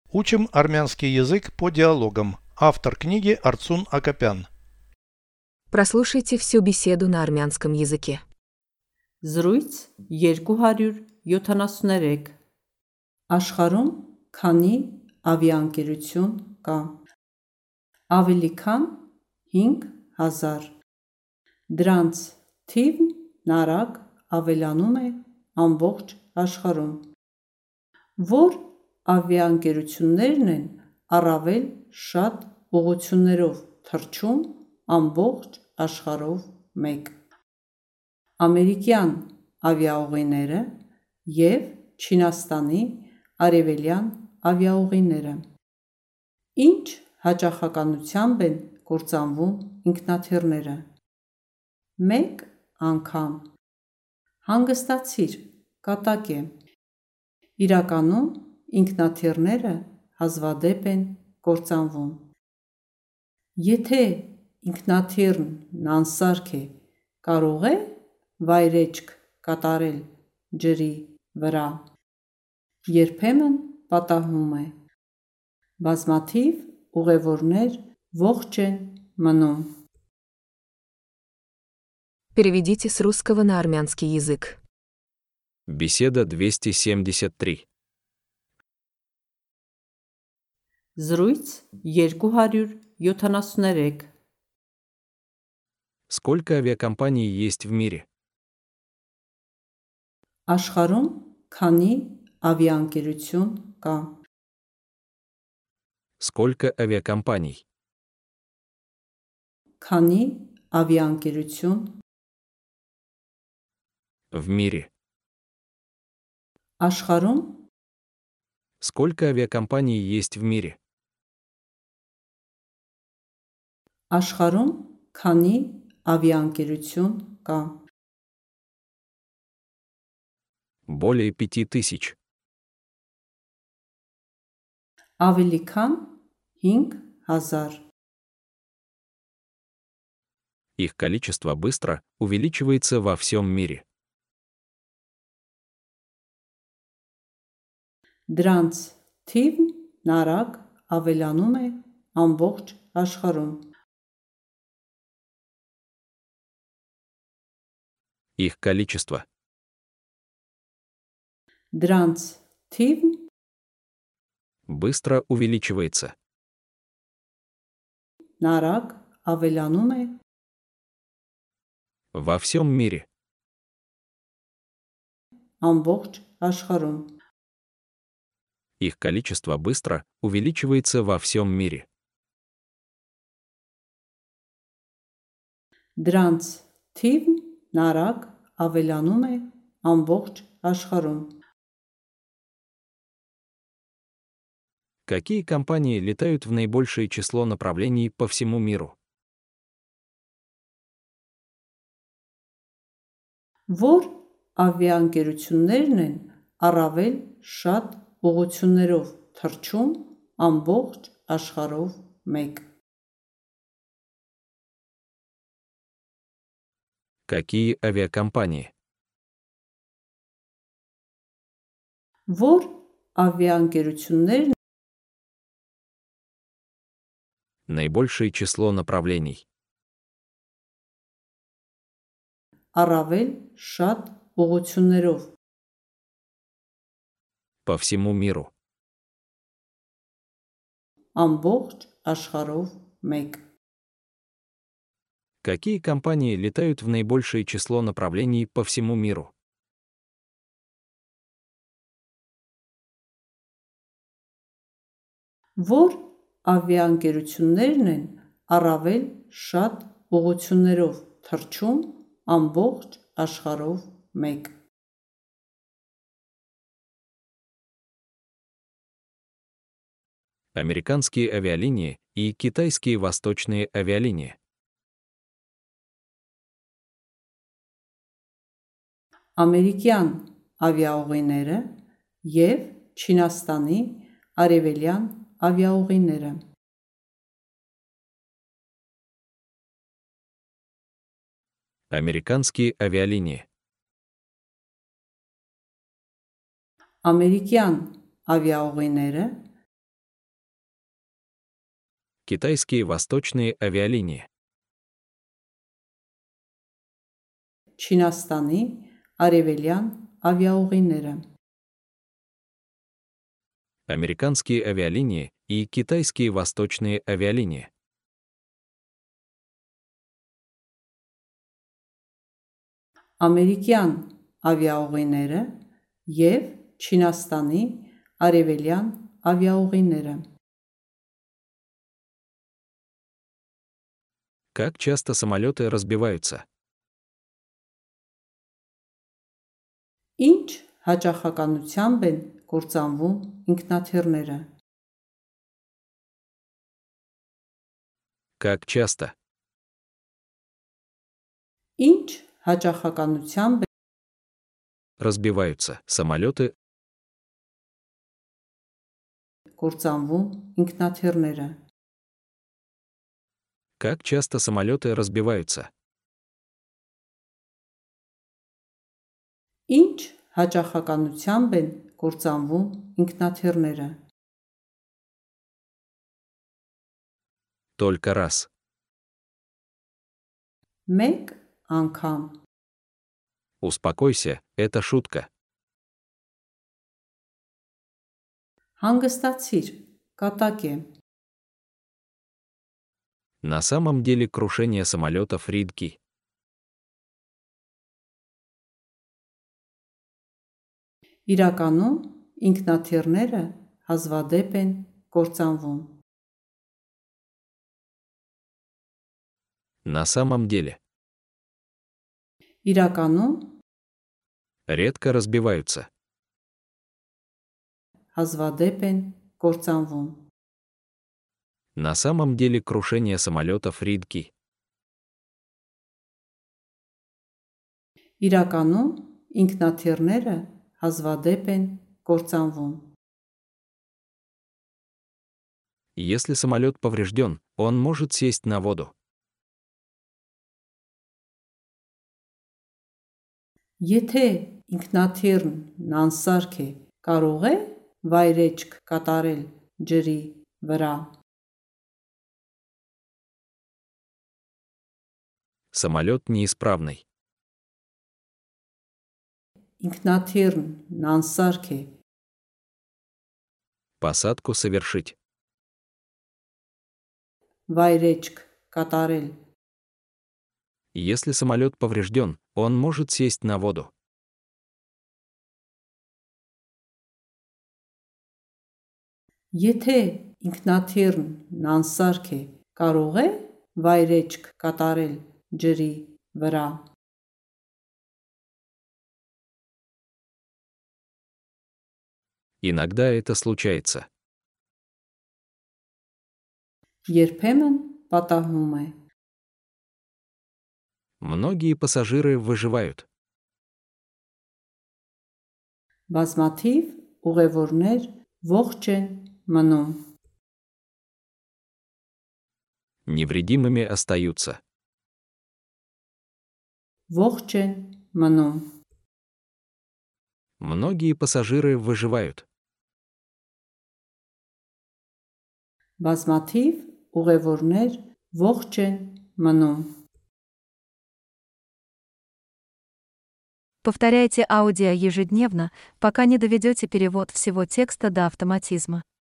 Учим армянский язык по диалогам. Автор книги Арцун Акопян. Прослушайте всю беседу на армянском языке. Զրույց 273 Աշխարհում քանի ավիաընկերություն կա? Ավելի քան 5000. Դրանց թիվն արագ ավելանում է ամբողջ աշխարհում. Որ ավիաընկերություններն են առավել շատ ուղղություններով թռչում ամբողջ աշխարհով մեկ: Ամերիկյան ավիաուղիները և Չինաստանի արևելյան ավիաուղիները: Ինչ հաճախականությամբ են կործանվում ինքնաթիռները: Մեկ անգամ: Հանգստացիր, կատակ է: Իրականում ինքնաթիռները հազվադեպ են կործանվում: Եթե ինքնաթիռն անսարք է, կարո՞ղ է վայրէջք կատարել ջրի վրա: Երբեմն պատահում է: Բազմաթիվ ուղևորներ ողջ են մնում: Переведите с русского на армянский язык. Беседа 273. Զրույց 273 Сколько авиакомпаний есть в мире? Աշխարհում քանի ավիաընկերություն կա? Сколько авиакомпаний? Քանի ավիաընկերություն В мире. աշխարհում Сколько авиакомпаний есть в мире? աշխարհում քանի ավիաընկերություն կա? Более 5000. Ավելի քան 5000. Их количество быстро увеличивается во всем мире. Դրանց թիվն արագ ավելանում է ամբողջ աշխարհում: Их количество. Դրանց թիվն Быстро увеличивается. արագ ավելանում է Во всем мире. ամբողջ աշխարհում: Их количество быстро увеличивается во всем мире. Դրանց թիվն արագ ավելանում է ամբողջ աշխարհում: Какие компании летают в наибольшее число направлений по всему миру? Որ ավիաընկերություններն են առավել շատ ուղղություններով թռչում ամբողջ աշխարհով մեկ: Какие авиакомпании? Որ ավիաընկերություններն Наибольшее число направлений. առավել շատ ուղղություններով По всему миру. ամբողջ աշխարհով մեկ: Какие компании летают в наибольшее число направлений по всему миру? Որ ավիաընկերություններն են առավել շատ ուղղություններով թռչում ամբողջ աշխարհով մեկ: Американские авиалинии и китайские восточные авиалинии. Ամերիկյան ավիաուղիները և Չինաստանի արևելյան ավիաուղիները: Американские авиалинии. Ամերիկյան ավիաուղիները Китайские восточные авиалинии. Չինաստանի արևելյան ավիաուղիները, Американские авиалинии и китайские восточные авиалинии. ամերիկյան ավիաուղիները և Չինաստանի արևելյան ավիաուղիները, Как часто самолеты разбиваются? ինչ հաճախականությամբ են կործանվում ինքնաթիռները, Как часто? ինչ հաճախականությամբ Разбиваются самолеты, են կործանվում ինքնաթիռները, как часто самолеты разбиваются? ինչ հաճախականությամբ են կործանվում ինքնաթիռները, Только раз. մեկ անգամ, Успокойся, это шутка. հանգստացիր, կատակ է, На самом деле крушение самолетов редки. իրականում ինքնաթիռները հազվադեպ են կործանվում, На самом деле. իրականում Редко разбиваются. հազվադեպ են կործանվում, На самом деле крушение самолетов редки. իրականում ինքնաթիռները հազվադեպ են կործանվում, Если самолет поврежден, он может сесть на воду. եթե ինքնաթիռն նանսարք է, կարող է վայրէջք կատարել ջրի վրա, Самолет неисправный. ինքնաթիռն նանսարք է, Посадку совершить. վայրէջք կատարել, Если самолет поврежден, он может сесть на воду. եթե ինքնաթիռն նանսարք է, կարող է վայրէջք կատարել ջրի վրա, Иногда это случается. երբեմն պատահում է, Многие пассажиры выживают. բազմաթիվ ուղևորներ ողջ են մնում, Невредимыми остаются. ողջ են մնում, Многие пассажиры выживают. բազմաթիվ ուղևորներ ողջ են մնում, Повторяйте аудио ежедневно, пока не доведете перевод всего текста до автоматизма.